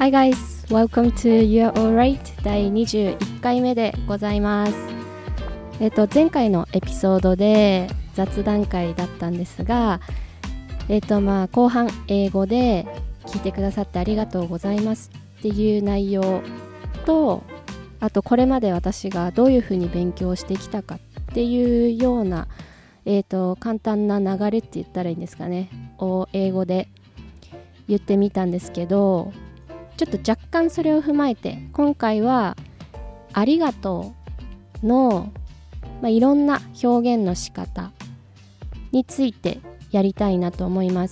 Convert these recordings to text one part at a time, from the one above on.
Hi guys, welcome to You're Alright 第21回目でございます。前回のエピソードで雑談会だったんですが、後半英語で聞いてくださってありがとうございますっていう内容と、あとこれまで私がどういうふうに勉強してきたかっていうような、簡単な流れって言ったらいいんですかねを英語で言ってみたんですけど、ちょっと若干それを踏まえて今回はありがとうの、いろんな表現の仕方についてやりたいなと思います。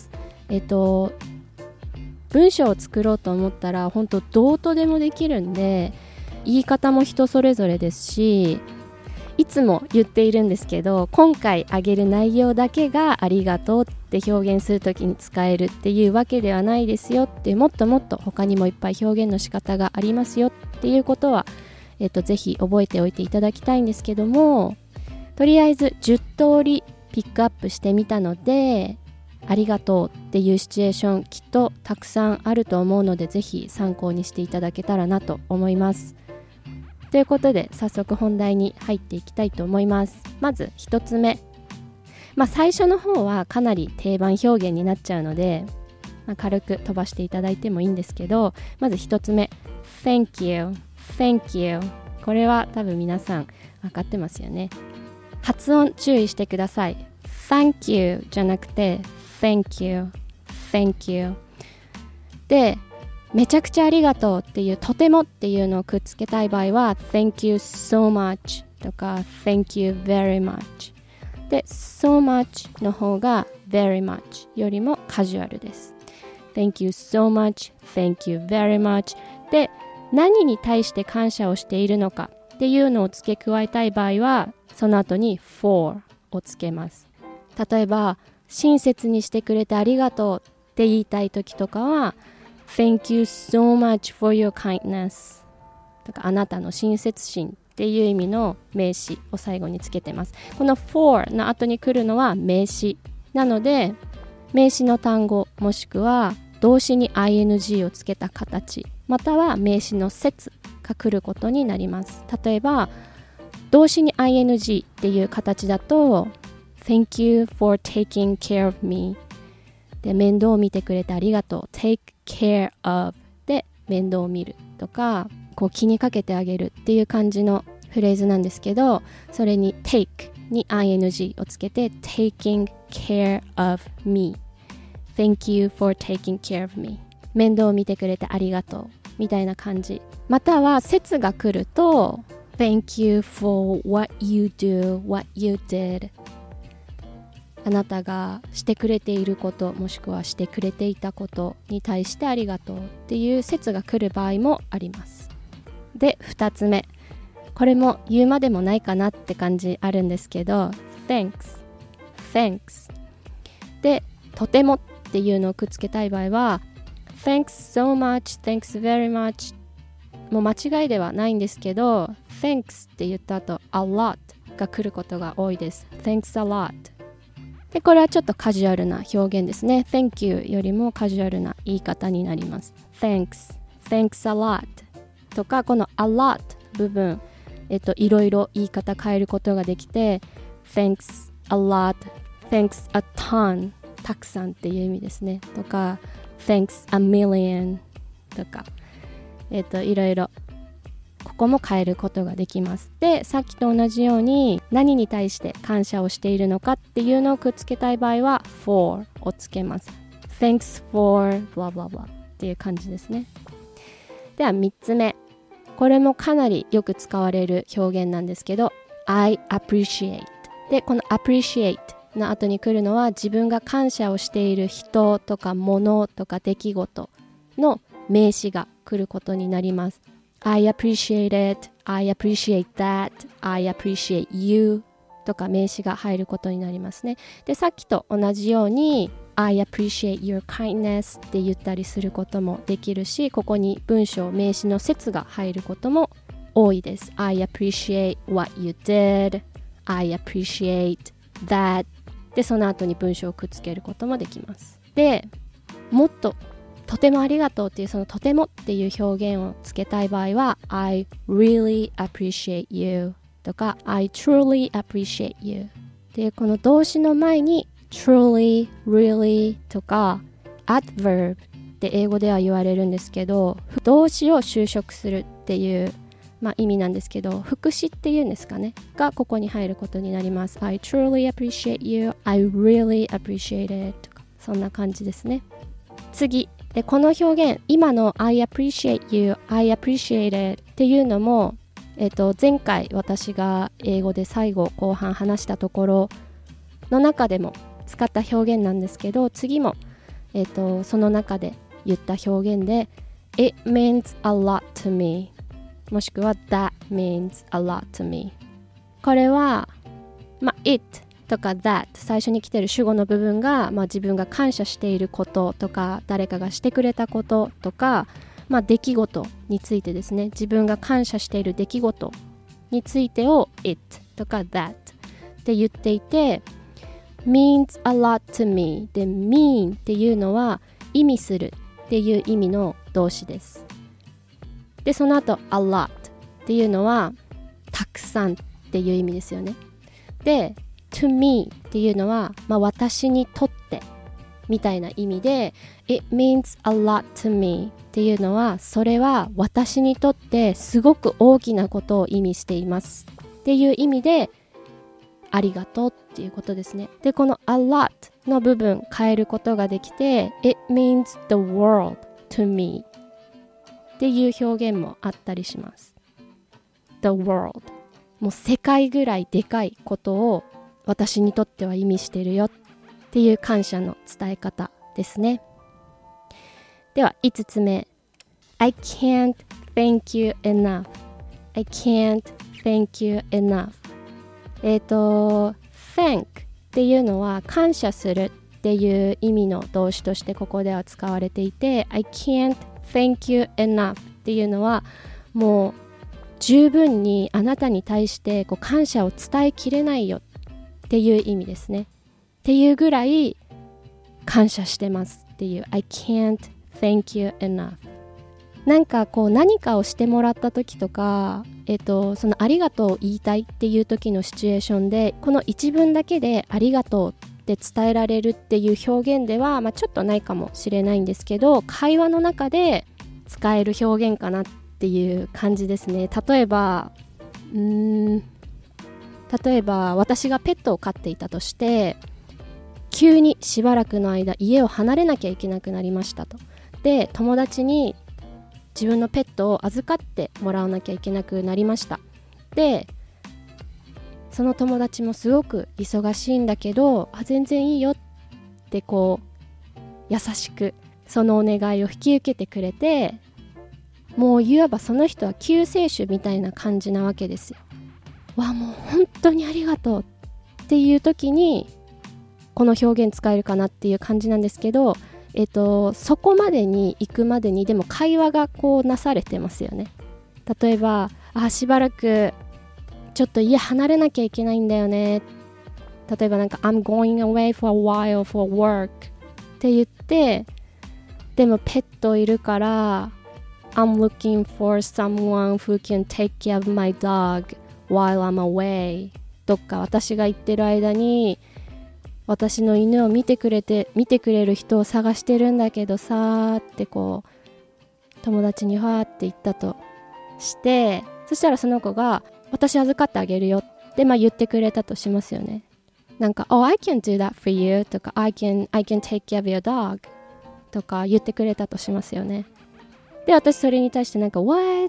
文章を作ろうと思ったら本当どうとでもできるんで、言い方も人それぞれですし、いつも言っているんですけど、今回あげる内容だけがありがとうって表現するときに使えるっていうわけではないですよって、もっともっと他にもいっぱい表現の仕方がありますよっていうことは、ぜひ覚えておいていただきたいんですけども、とりあえず10通りピックアップしてみたので、ありがとうっていうシチュエーションきっとたくさんあると思うので、ぜひ参考にしていただけたらなと思います。ということで早速本題に入っていきたいと思います。まず一つ目、最初の方はかなり定番表現になっちゃうので、軽く飛ばしていただいてもいいんですけど、まず一つ目 Thank you Thank you、 これは多分皆さん分かってますよね。発音注意してください。 Thank you じゃなくて Thank you Thank you で、めちゃくちゃありがとうっていうとてもっていうのをくっつけたい場合は Thank you so much とか Thank you very much で、so much の方が very much よりもカジュアルです。 Thank you so much Thank you very much で、何に対して感謝をしているのかっていうのを付け加えたい場合はその後に for をつけます。例えば親切にしてくれてありがとうって言いたい時とかはThank you so much for your kindness とか、あなたの親切心っていう意味の名詞を最後につけてます。この for の後に来るのは名詞なので、名詞の単語もしくは動詞に ing をつけた形、または名詞の節が来ることになります。例えば動詞に ing っていう形だと Thank you for taking care of me で、面倒を見てくれてありがとう。 take care of で面倒を見るとか、こう気にかけてあげるっていう感じのフレーズなんですけど、それに take に ing をつけて taking care of me Thank you for taking care of me 面倒を見てくれてありがとうみたいな感じ。または節が来ると Thank you for what you do what you did、あなたがしてくれていることもしくはしてくれていたことに対してありがとうっていう説が来る場合もあります。で、2つ目、これも言うまでもないかなって感じあるんですけど Thanks で、とてもっていうのをくっつけたい場合は Thanks so much Thanks very much、 もう間違いではないんですけど Thanks って言った後 a lot が来ることが多いです。 Thanks a lotで、これはちょっとカジュアルな表現ですね。 Thank you よりもカジュアルな言い方になります。 Thanks a lot とか、この a lot 部分、いろいろ言い方変えることができて Thanks a lot Thanks a ton たくさんっていう意味ですね。とか Thanks a million とか、いろいろここも変えることができます。で、さっきと同じように何に対して感謝をしているのかっていうのをくっつけたい場合は for をつけます。 Thanks for blah blah blah っていう感じですね。では3つ目、これもかなりよく使われる表現なんですけど I appreciate で、この appreciate の後に来るのは自分が感謝をしている人とか物とか出来事の名詞が来ることになります。I appreciate it, I appreciate that, I appreciate you とか名詞が入ることになりますね。で、さっきと同じように I appreciate your kindness って言ったりすることもできるし、ここに文章名詞の節が入ることも多いです。 I appreciate what you did, I appreciate that で、その後に文章をくっつけることもできます。で、もっととてもありがとうっていうそのとてもっていう表現をつけたい場合は I really appreciate you とか I truly appreciate you っていうこの動詞の前に truly, really とか adverb って英語では言われるんですけど、動詞を修飾するっていう意味なんですけど、副詞っていうんですかねがここに入ることになります。 I truly appreciate you I really appreciate it とかそんな感じですね。次でこの表現今の I appreciate you I appreciate it っていうのも、前回私が英語で最後後半話したところの中でも使った表現なんですけど、次も、その中で言った表現で It means a lot to me もしくは That means a lot to me。 これは、It とか That 最初に来てる主語の部分が、自分が感謝していることとか誰かがしてくれたこととか、出来事についてですね、自分が感謝している出来事についてを It とか That って言っていて、means a lot to me で mean っていうのは意味するっていう意味の動詞です。でその後 a lot っていうのはたくさんっていう意味ですよね。で to me っていうのは、私にとってみたいな意味で It means a lot to me っていうのはそれは私にとってすごく大きなことを意味していますっていう意味でありがとうっていうことですね。でこの a lot の部分変えることができて It means the world to me っていう表現もあったりします。 The world もう世界ぐらいでかいことを私にとっては意味してるよっていう感謝の伝え方ですね。では5つ目 I can't thank you enough I can't thank you enough thank っていうのは感謝するっていう意味の動詞としてここでは使われていて I can't thank you enough っていうのはもう十分にあなたに対して感謝を伝えきれないよっていう意味ですね。っていうぐらい感謝してますっていう I can't thank you enough。 なんか何かをしてもらった時とか、そのありがとうを言いたいっていう時のシチュエーションでこの一文だけでありがとうって伝えられるっていう表現では、ちょっとないかもしれないんですけど会話の中で使える表現かなっていう感じですね。例えば私がペットを飼っていたとして急にしばらくの間家を離れなきゃいけなくなりましたと。で友達に自分のペットを預かってもらわなきゃいけなくなりました。でその友達もすごく忙しいんだけど全然いいよって優しくそのお願いを引き受けてくれて、もういわばその人は救世主みたいな感じなわけですよ。もう本当にありがとうっていう時にこの表現使えるかなっていう感じなんですけど、そこまでに行くまでにでも会話がなされてますよね。例えばしばらくちょっと家離れなきゃいけないんだよね。例えばI'm going away for a while for work って言って、でもペットいるからI'm looking for someone who can take care of my dog while I'm away。 どっか私が行ってる間に私の犬を見てくれる人を探してるんだけどさって友達にわーって言ったとして、そしたらその子が私預かってあげるよって言ってくれたとしますよね。Oh I can do that for you とか I can take care of your dog とか言ってくれたとしますよね。で私それに対してWhat?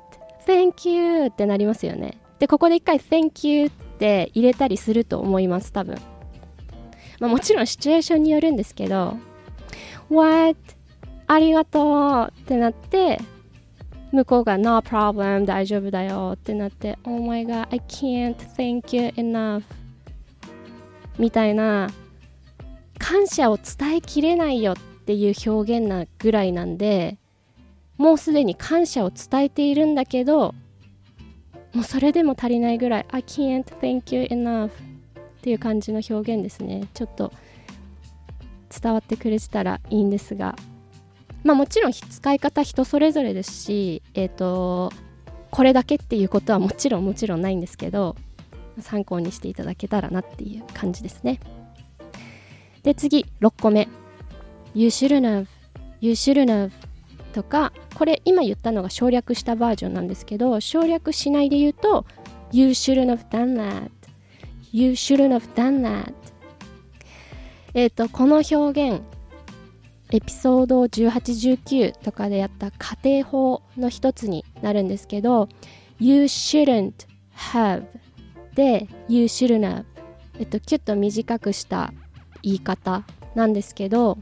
Thank you ってなりますよね。でここで一回 Thank you って入れたりすると思います多分。もちろんシチュエーションによるんですけど What? ありがとうってなって向こうが No problem 大丈夫だよってなって Oh my god I can't thank you enough みたいな感謝を伝えきれないよっていう表現なぐらいなんで、もうすでに感謝を伝えているんだけどもうそれでも足りないぐらい I can't thank you enough っていう感じの表現ですね。ちょっと伝わってくれてたらいいんですが、 もちろん使い方人それぞれですし、これだけっていうことはもちろんないんですけど、参考にしていただけたらなっていう感じですね。で次6個目 You shouldn't have とか、これ今言ったのが省略したバージョンなんですけど、省略しないで言うと You shouldn't have done that You shouldn't have done that。この表現エピソード18、19とかでやった家庭法の一つになるんですけど、 You shouldn't have で You shouldn't have、キュッと短くした言い方なんですけど、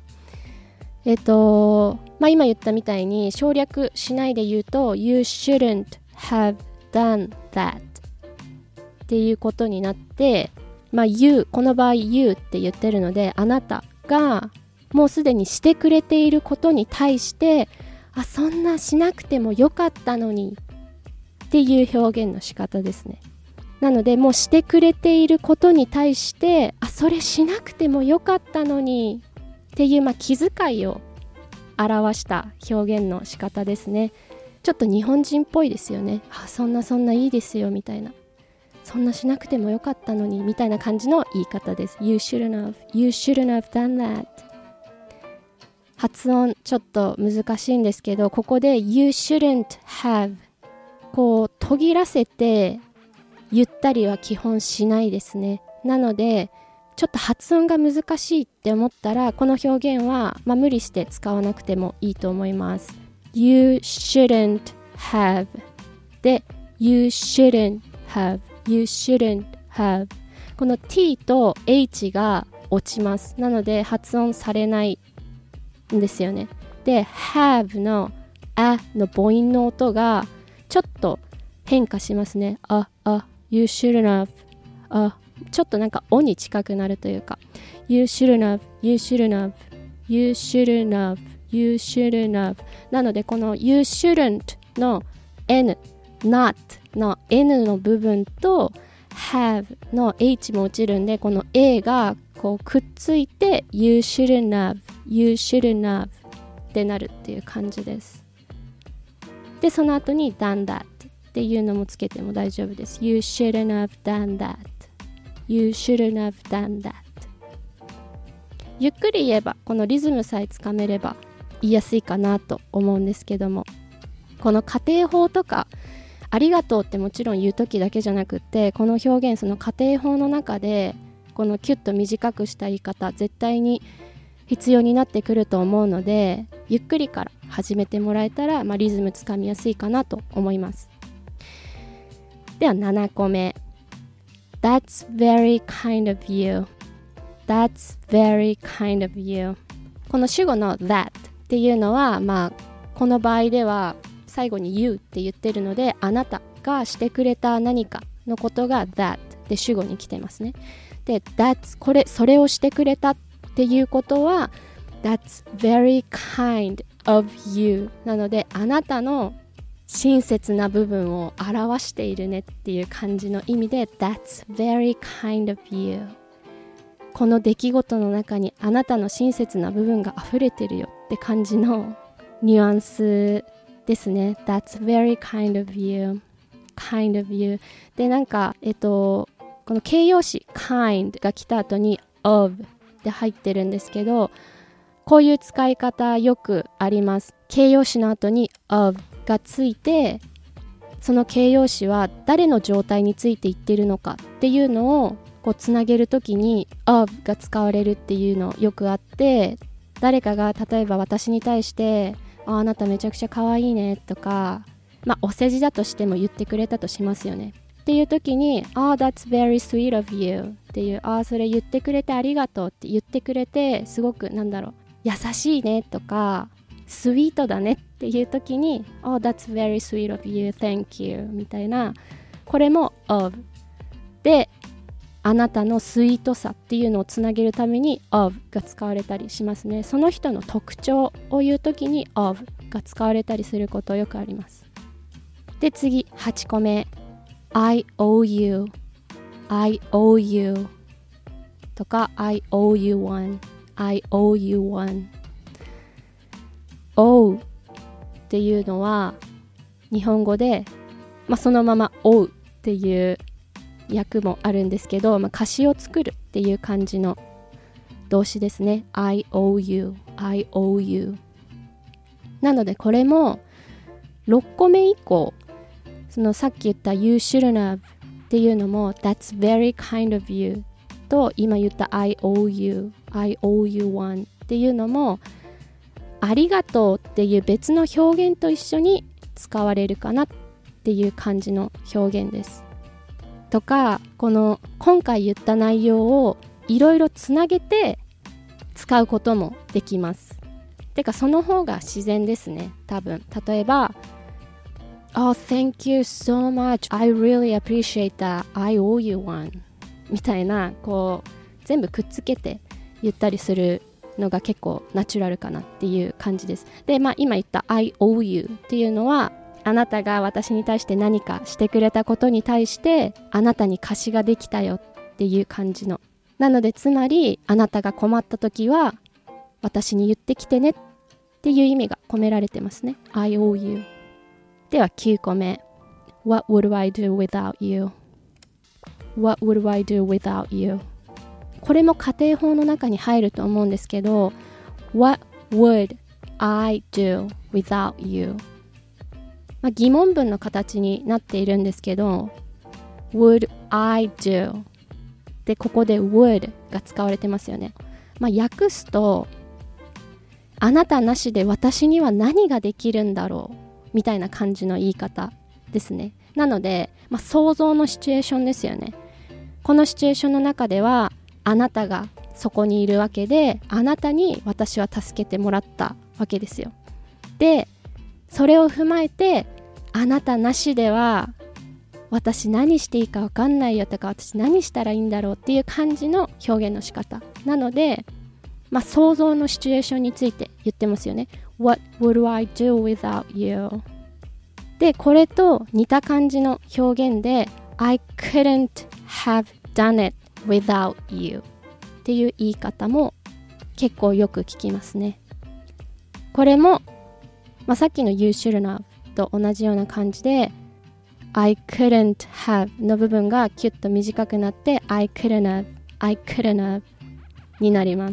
今言ったみたいに省略しないで言うと You shouldn't have done that っていうことになって、You、この場合 You って言ってるので、あなたがもうすでにしてくれていることに対して、そんなしなくてもよかったのにっていう表現の仕方ですね。なのでもうしてくれていることに対して、それしなくてもよかったのにっていう、気遣いを表した表現の仕方ですね。ちょっと日本人っぽいですよね。そんないいですよみたいな、そんなしなくてもよかったのにみたいな感じの言い方です。You shouldn't have done that。発音ちょっと難しいんですけど、ここで You shouldn't have こう途切らせて言ったりは基本しないですね。なのでちょっと発音が難しいって思ったら、この表現は、無理して使わなくてもいいと思います。 You shouldn't have で You shouldn't have You shouldn't have、 この T と H が落ちます。なので発音されないんですよね。で have のあの母音の音がちょっと変化しますね。You shouldn't have、ちょっとなんかおに近くなるというか、 You shouldn't have You shouldn't have You shouldn't have You shouldn't have。 なのでこの You shouldn't の N not の N の部分と have の H も落ちるんで、この A がこうくっついて You shouldn't have You shouldn't have ってなるっていう感じです。でその後に done that っていうのもつけても大丈夫です。 You shouldn't have done that You shouldn't have done that。 ゆっくり言えばこのリズムさえつかめれば言いやすいかなと思うんですけども、この家庭法とかありがとうってもちろん言う時だけじゃなくって、この表現その家庭法の中でこのキュッと短くした言い方絶対に必要になってくると思うので、ゆっくりから始めてもらえたら、リズムつかみやすいかなと思います。では7個目 That's very kind of you That's very kind of you。 この主語の that っていうのは、この場合では最後に you って言ってるので、あなたがしてくれた何かのことが that で主語に来てますね。で that's それをしてくれたっていうことは That's very kind of you なので、あなたの親切な部分を表しているねっていう感じの意味で That's very kind of you。 この出来事の中にあなたの親切な部分が溢れてるよって感じのニュアンスですね。 That's very kind of you kind of you でなんかこの形容詞 kind が来た後に of で入ってるんですけど、こういう使い方よくあります。形容詞の後に of がついて、その形容詞は誰の状態について言ってるのかっていうのをこうつなげるときに of が使われるっていうのよくあって、誰かが例えば私に対してあなためちゃくちゃ可愛いねとか、お世辞だとしても言ってくれたとしますよね。っていう時にthat's very sweet of you っていう、それ言ってくれてありがとうって言ってくれて、すごく優しいねとかスイートだねっていう時にthat's very sweet of you thank you みたいな、これも of であなたのスイートさっていうのをつなげるために of が使われたりしますね。その人の特徴を言うときに of が使われたりすることよくあります。で次8個目 I owe you I owe you とか I owe you one I owe you one。 追うっていうのは日本語で、そのまま追うっていう訳もあるんですけど、歌詞を作るっていう感じの動詞ですね。 I owe you I owe you なのでこれも6個目以降、そのさっき言った You shouldn't have っていうのも That's very kind of you と今言った I owe you I owe you one っていうのもありがとうっていう別の表現と一緒に使われるかなっていう感じの表現です。とか、この今回言った内容をいろいろつなげて使うこともできます。てかその方が自然ですね、多分。例えばOh, thank you so much. I really appreciate that. I owe you one. みたいな、こう全部くっつけて言ったりするのが結構ナチュラルかなっていう感じです。で、今言った I owe you っていうのは、あなたが私に対して何かしてくれたことに対してあなたに貸しができたよっていう感じの。なのでつまりあなたが困った時は私に言ってきてねっていう意味が込められてますね。I owe you。では9個目。What would I do without you? What would I do without you? これも家庭法の中に入ると思うんですけど What would I do without you? 疑問文の形になっているんですけど Would I do? でここで would が使われてますよね。訳すとあなたなしで私には何ができるんだろうみたいな感じの言い方ですね。なので、想像のシチュエーションですよね。このシチュエーションの中ではあなたがそこにいるわけで、あなたに私は助けてもらったわけですよ。で、それを踏まえてあなたなしでは私何していいか分かんないよとか、私何したらいいんだろうっていう感じの表現の仕方なので、想像のシチュエーションについて言ってますよね。What would I do without you? で、これと似た感じの表現で I couldn't have done it without you っていう言い方も結構よく聞きますね。これも、さっきの You shouldn't have と同じような感じでI couldn't have の部分がキュッと短くなって I couldn't have になります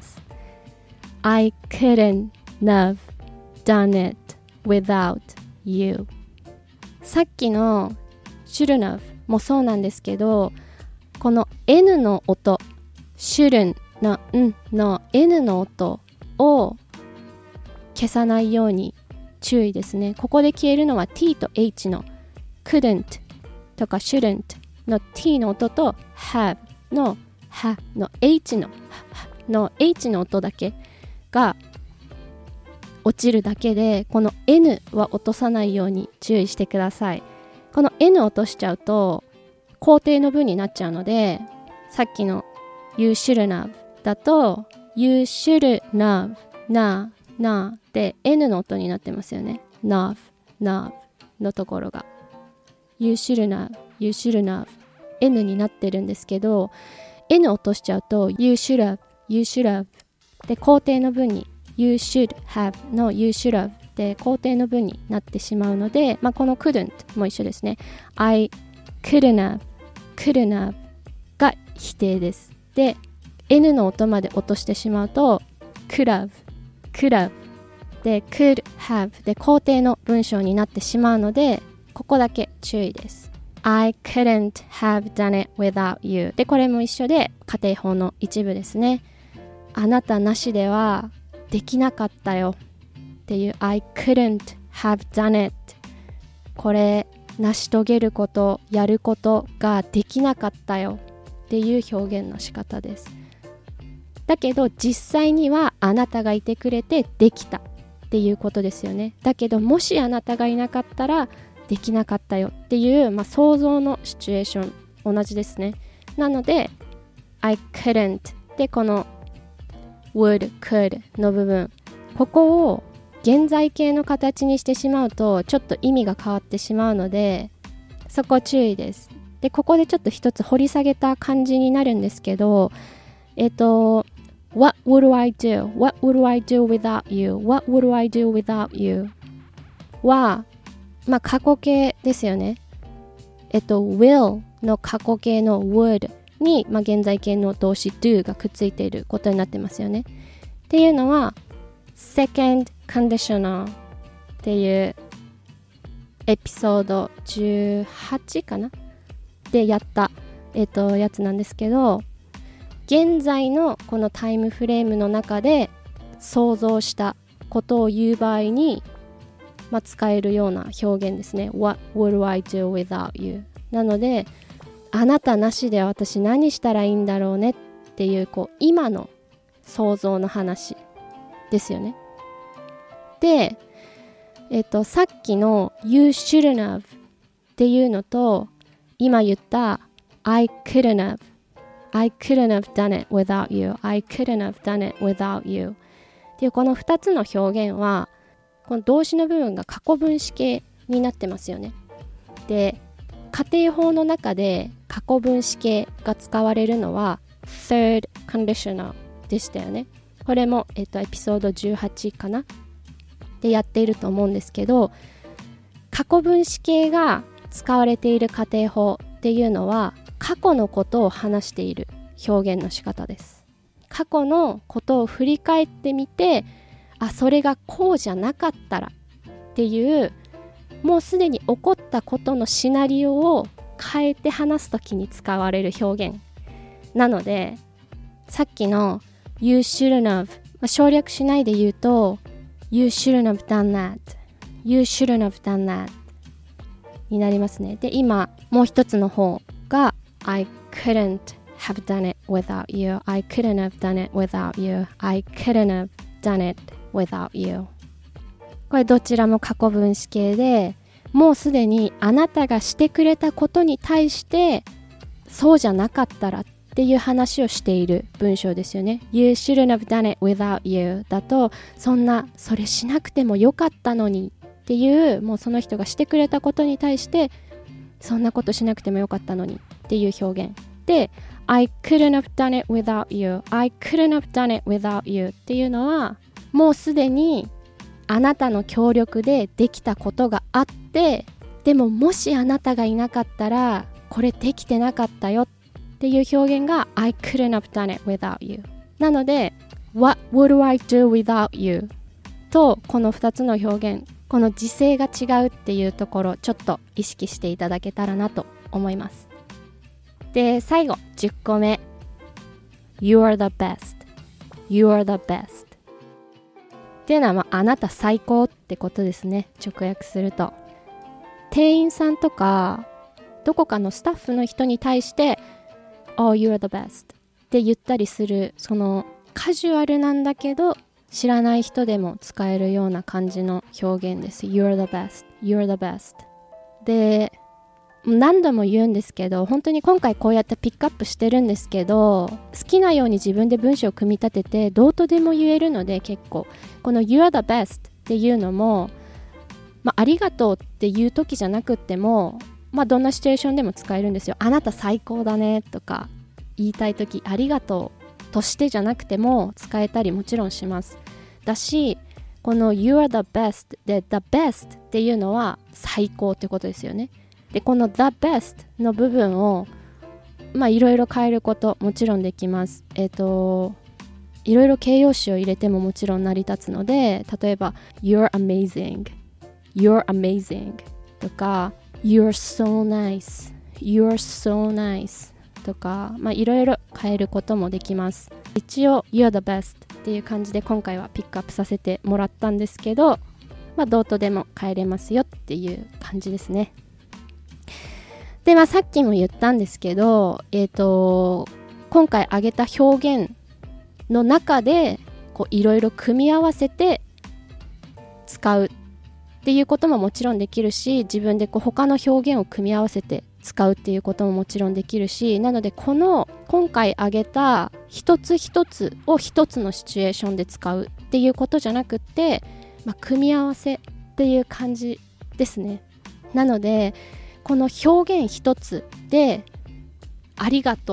。I couldn't have done it without you。 さっきの shouldn't have もそうなんですけど、この N の音 shouldn't の N の N の音を消さないように注意ですね。ここで消えるのは T と H の couldn't とか shouldn't の T の音と have の ha の H の音だけが落ちるだけで、この N は落とさないように注意してください。この N を落としちゃうと肯定の文になっちゃうので、さっきの You shouldn't have だと You shouldn't have なで N の音になってますよね。nav のところが You shouldn't have N になってるんですけど、 N 落としちゃうと You should have で肯定の文に You should have の You should have で肯定の文になってしまうので、この couldn't も一緒ですね。 I couldn't have が否定です。で N の音まで落としてしまうと could have で could have で肯定の文章になってしまうので、ここだけ注意です。 I couldn't have done it without you でこれも一緒で家庭法の一部ですね。あなたなしではできなかったよっていう I couldn't have done it、 これ成し遂げることやることができなかったよっていう表現の仕方です。だけど実際にはあなたがいてくれてできたっていうことですよね。だけどもしあなたがいなかったらできなかったよっていう、想像のシチュエーション同じですね。なので I couldn't でこの would could の部分、ここを現在形の形にしてしまうとちょっと意味が変わってしまうので、そこ注意です。でここでちょっと一つ掘り下げた感じになるんですけど、 What would I do? What would I do without you? What would I do without you? は、過去形ですよね。will の過去形の would に、現在形の動詞 do がくっついていることになってますよね。っていうのは second conditional っていうエピソード18かなでやった、やつなんですけど、現在のこのタイムフレームの中で想像したことを言う場合に、使えるような表現ですね。 What would I do without you? なので、あなたなしで私何したらいいんだろうねっていう、今の想像の話ですよね。で、さっきの You shouldn't have っていうのと今言った I couldn't have done it without you I couldn't have done it without you っていうこの2つの表現はこの動詞の部分が過去分詞形になってますよね。で、家庭法の中で過去分詞形が使われるのは third conditional でしたよね。これも、エピソード18かなでやっていると思うんですけど、過去分詞形が使われている家庭法っていうのは過去のことを話している表現の仕方です。過去のことを振り返ってみて、それがこうじゃなかったらっていうもうすでに起こったことのシナリオを変えて話すときに使われる表現なので、さっきの You shouldn't have、省略しないで言うと You shouldn't have done that You shouldn't have done that になりますね。で、今もう一つの方が I couldn't have done it without you I couldn't have done it without you I couldn't have done it without you これどちらも過去分詞形で、もうすでにあなたがしてくれたことに対してそうじゃなかったらっていう話をしている文章ですよね。 You shouldn't have done it without you だと、それしなくてもよかったのにっていう、もうその人がしてくれたことに対してそんなことしなくてもよかったのにっていう表現で、 I couldn't have done it without you I couldn't have done it without you っていうのはもうすでにあなたの協力でできたことがあって、でももしあなたがいなかったらこれできてなかったよっていう表現が I couldn't have done it without you なので What would I do without you とこの2つの表現、この時制が違うっていうところちょっと意識していただけたらなと思います。で、最後10個目 You are the best You are the bestっていうのは、あなた最高ってことですね。直訳すると、店員さんとかどこかのスタッフの人に対してOh, you're the best って言ったりする、そのカジュアルなんだけど知らない人でも使えるような感じの表現です。 You're the best You're the best で、何度も言うんですけど、本当に今回こうやってピックアップしてるんですけど、好きなように自分で文章を組み立ててどうとでも言えるので、結構この You're the best っていうのも、ありがとうっていう時じゃなくっても、どんなシチュエーションでも使えるんですよ。あなた最高だねとか言いたい時、ありがとうとしてじゃなくても使えたりもちろんします。だし、この You are the best で The best っていうのは最高ってことですよね。で、この The best の部分をいろいろ変えることもちろんできます。いろいろ形容詞を入れてももちろん成り立つので、例えば You're amazing You're amazing とか You're so nice You're so nice とか、いろいろ変えることもできます。一応 You're the best っていう感じで今回はピックアップさせてもらったんですけど、どうとでも変えれますよっていう感じですね。で、さっきも言ったんですけど、今回挙げた表現の中でいろいろ組み合わせて使うっていうことももちろんできるし、自分で他の表現を組み合わせて使うっていうことももちろんできるし、なのでこの今回挙げた一つ一つを一つのシチュエーションで使うっていうことじゃなくって、組み合わせっていう感じですね。なのでこの表現一つでありがとう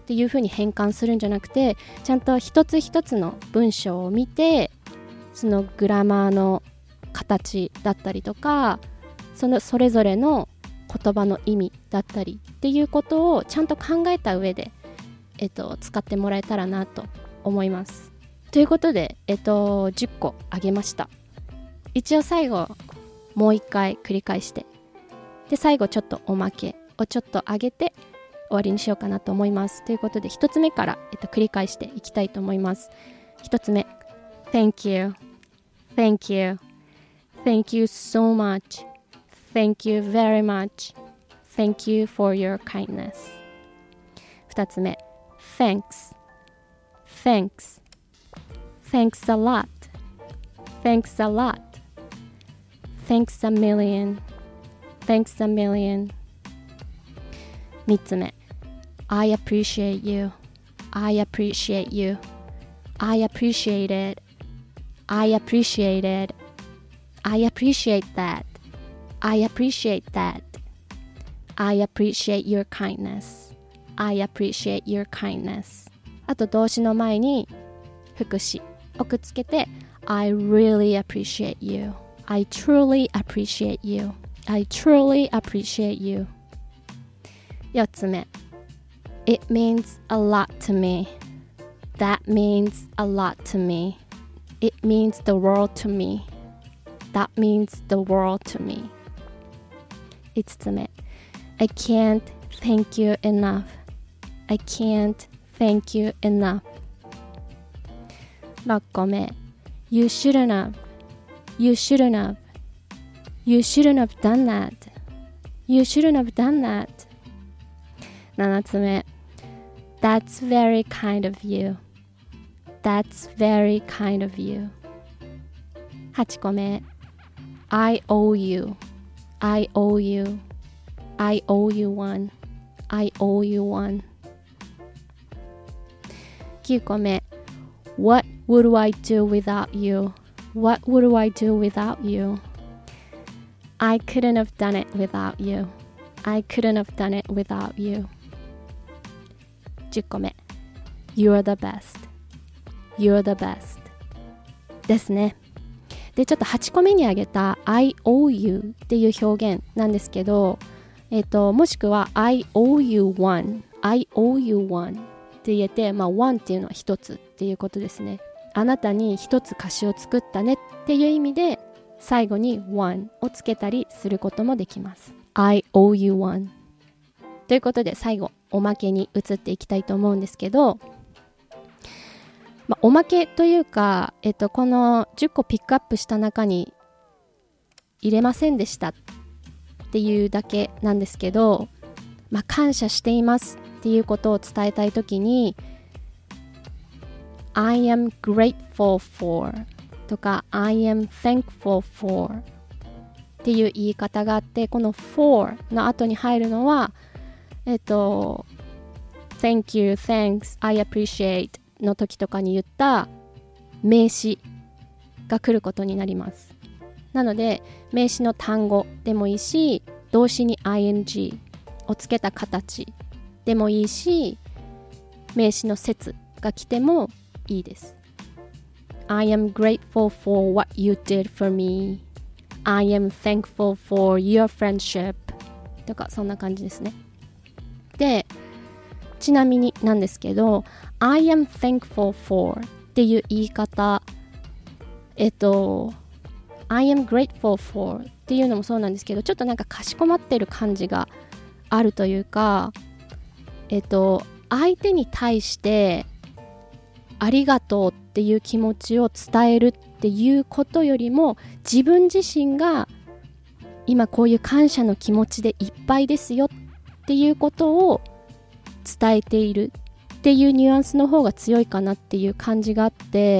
っていうふうに変換するんじゃなくて、ちゃんと一つ一つの文章を見て、そのグラマーの形だったりとか、それぞれの言葉の意味だったりっていうことをちゃんと考えた上で、使ってもらえたらなと思います。ということで、10個あげました。一応最後もう一回繰り返して、で最後ちょっとおまけをちょっと上げて終わりにしようかなと思います。ということで一つ目から、繰り返していきたいと思います。一つ目 Thank you Thank you Thank you so much Thank you very much Thank you for your kindness。 二つ目 Thanks Thanks Thanks a lot Thanks a lot Thanks a million Thanks a million。 三つ目 I appreciate you I appreciate you I appreciate it I appreciate it I appreciate that I appreciate that I appreciate your kindness I appreciate your kindness。 あと動詞の前に副詞をくっつけて I really appreciate you I truly appreciate you I truly appreciate you。 四つ目 It means a lot to me That means a lot to me It means the world to me That means the world to me。 五つ目 I can't thank you enough I can't thank you enough。 六個目 You shouldn't have You shouldn't have You shouldn't have done that You shouldn't have done that。 七つ目 That's very kind of you That's very kind of you。 八個目 I owe you I owe you I owe you one I owe you one。 九個目 What would I do without you What would I do without you I couldn't have done it without you I couldn't have done it without you。 10個目 You're the best You're the best ですね。でちょっと8個目に挙げた I owe you っていう表現なんですけど、もしくは I owe you one I owe you one って言えて、one っていうのは一つっていうことですね。あなたに一つ歌詞を作ったねっていう意味で最後に one をつけたりすることもできます。 I owe you one。 ということで最後おまけに移っていきたいと思うんですけど、おまけというか、この10個ピックアップした中に入れませんでしたっていうだけなんですけど、感謝していますっていうことを伝えたいときに I am grateful for とか I am thankful for っていう言い方があって、この for の後に入るのはThank you, thanks, I appreciate の時とかに言った名詞が来ることになります。なので名詞の単語でもいいし、動詞に ing をつけた形でもいいし、名詞の説が来てもいいです。 I am grateful for what you did for me I am thankful for your friendship とかそんな感じですね。でちなみになんですけど I am thankful for っていう言い方I am grateful for っていうのもそうなんですけど、ちょっとなんかかしこまってる感じがあるというか、相手に対してありがとうっていう気持ちを伝えるっていうことよりも、自分自身が今こういう感謝の気持ちでいっぱいですよっていうことを伝えているっていうニュアンスの方が強いかなっていう感じがあって、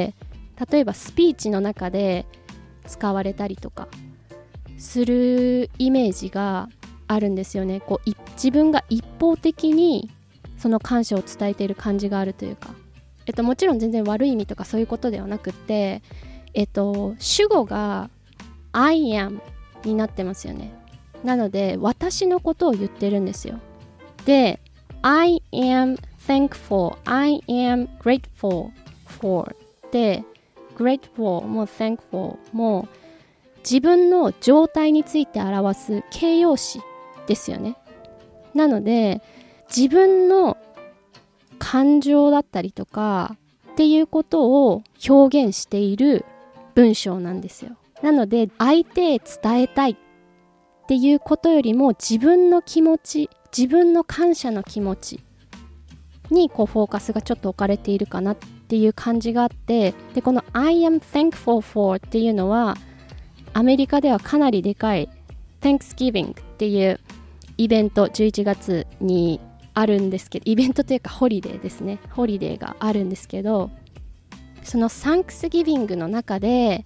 例えばスピーチの中で使われたりとかするイメージがあるんですよね。こう自分が一方的にその感謝を伝えている感じがあるというか、もちろん全然悪い意味とかそういうことではなくて、主語が I am になってますよね。なので私のことを言ってるんですよ。で I am thankful I am grateful for で grateful も thankful も自分の状態について表す形容詞ですよね。なので自分の感情だったりとかっていうことを表現している文章なんですよ。なので相手へ伝えたいっていうことよりも自分の気持ち、自分の感謝の気持ちにフォーカスがちょっと置かれているかなっていう感じがあって、でこの I am thankful for っていうのはアメリカではかなりでかい Thanksgiving っていうイベント11月にあるんですけど、イベントというかホリデーですね、ホリデーがあるんですけど、そのサンクスギビングの中で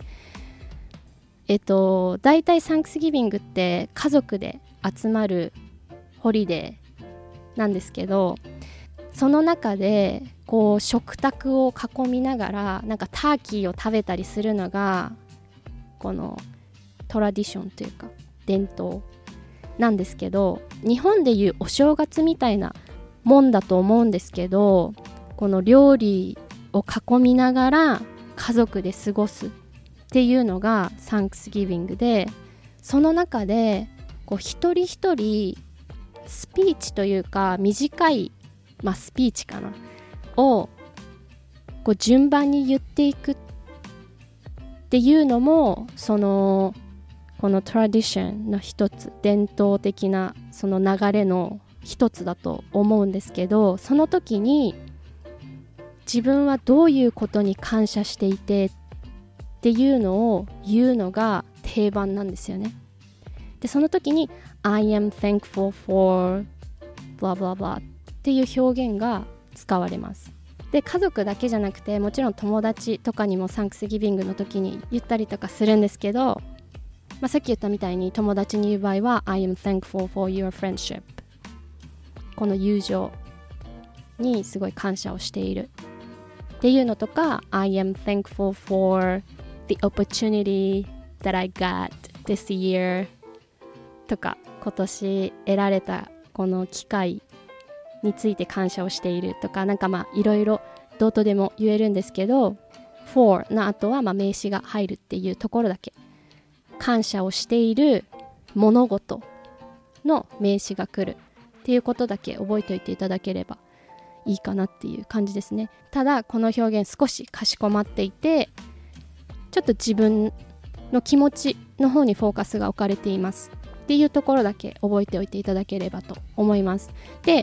大体サンクスギビングって家族で集まるホリデーなんですけど、その中でこう食卓を囲みながらなんかターキーを食べたりするのがこのトラディションというか伝統なんですけど、日本でいうお正月みたいなもんだと思うんですけど、この料理を囲みながら家族で過ごすっていうのがサンクスギビングで、その中でこう一人一人スピーチというか短い、スピーチかなをこう順番に言っていくっていうのもこのトラディションの一つ、伝統的なその流れの一つだと思うんですけど、その時に自分はどういうことに感謝していてっていうのを言うのが定番なんですよね。でその時に I am thankful for blah blah blah っていう表現が使われます。で家族だけじゃなくてもちろん友達とかにもサンクスギビングの時に言ったりとかするんですけど、さっき言ったみたいに友達に言う場合は I am thankful for your friendship、 この友情にすごい感謝をしているっていうのとか I am thankful for the opportunity that I got this year とか今年得られたこの機会について感謝をしているとか、なんかいろいろどうとでも言えるんですけど for の後は名詞が入るっていうところだけ、感謝をしている物事の名詞が来るっていうことだけ覚えておいていただければいいかなっていう感じですね。ただこの表現少しかしこまっていて、ちょっと自分の気持ちの方にフォーカスが置かれていますっていうところだけ覚えておいていただければと思います。で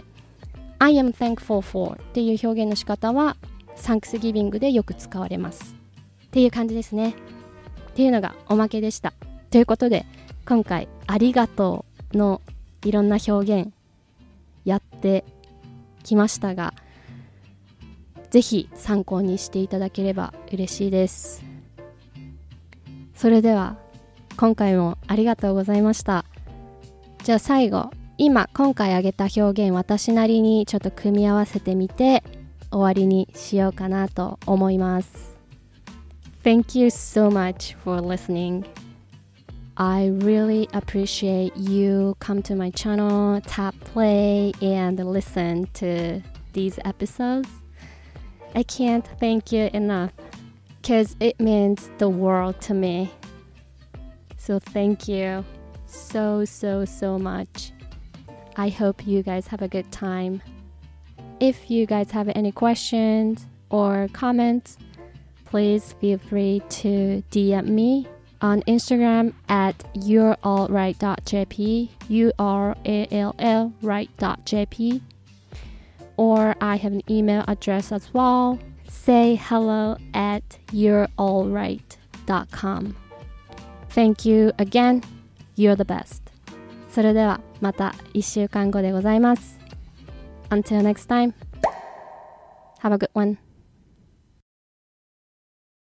I am thankful for っていう表現の仕方はサンクスギビングでよく使われますっていう感じですね。っていうのがおまけでした。ということで今回ありがとうのいろんな表現やってきましたが、ぜひ参考にしていただければ嬉しいです。それでは今回もありがとうございました。じゃあ最後、今回挙げた表現私なりにちょっと組み合わせてみて終わりにしようかなと思います。Thank you so much for listening. I really appreciate you come to my channel, tap play and listen to these episodes. I can't thank you enough because it means the world to me. So thank you so much. I hope you guys have a good time. If you guys have any questions or comments, please feel free to DM me on Instagram at yourallright.jp, yourallright.jp, or I have an email address as well, sayhello@yourallright.com. Thank you again. You're the best. それではまた1週間後でございます。Until next time. Have a good one.